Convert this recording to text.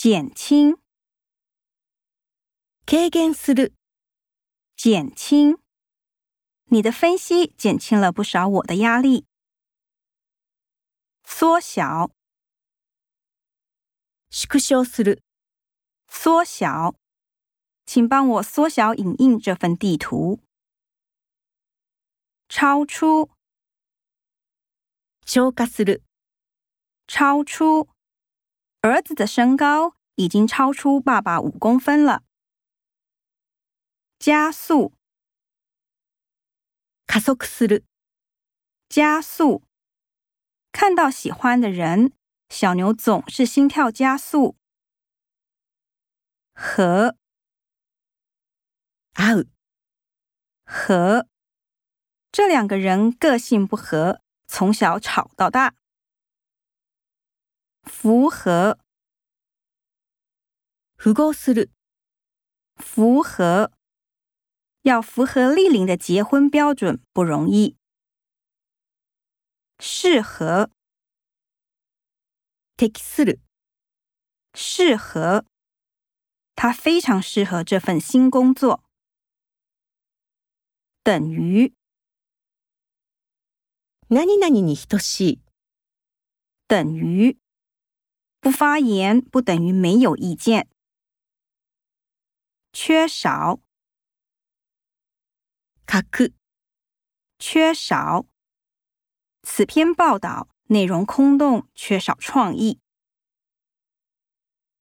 减轻， 軽減する、 减轻。你的分析减轻了不少我的压力。缩小， 縮小する、 缩小。请帮我缩小影印这份地图。超出， 超過する、 超出。儿子的身高已经超出爸爸5公分了。加速， 加速する、 加速。看到喜欢的人，小牛总是心跳加速。合， 合う、 合。这2个人个性不合，从小吵到大。符合， 符合する、 符合。要符合丽玲的结婚标准不容易。适合， 適する、 适合。他非常适合这份新工作。等于， 何々に等しい、 等于。不发言不等于没有意见。缺少， 欠く、 缺少。此篇报道内容空洞，缺少创意。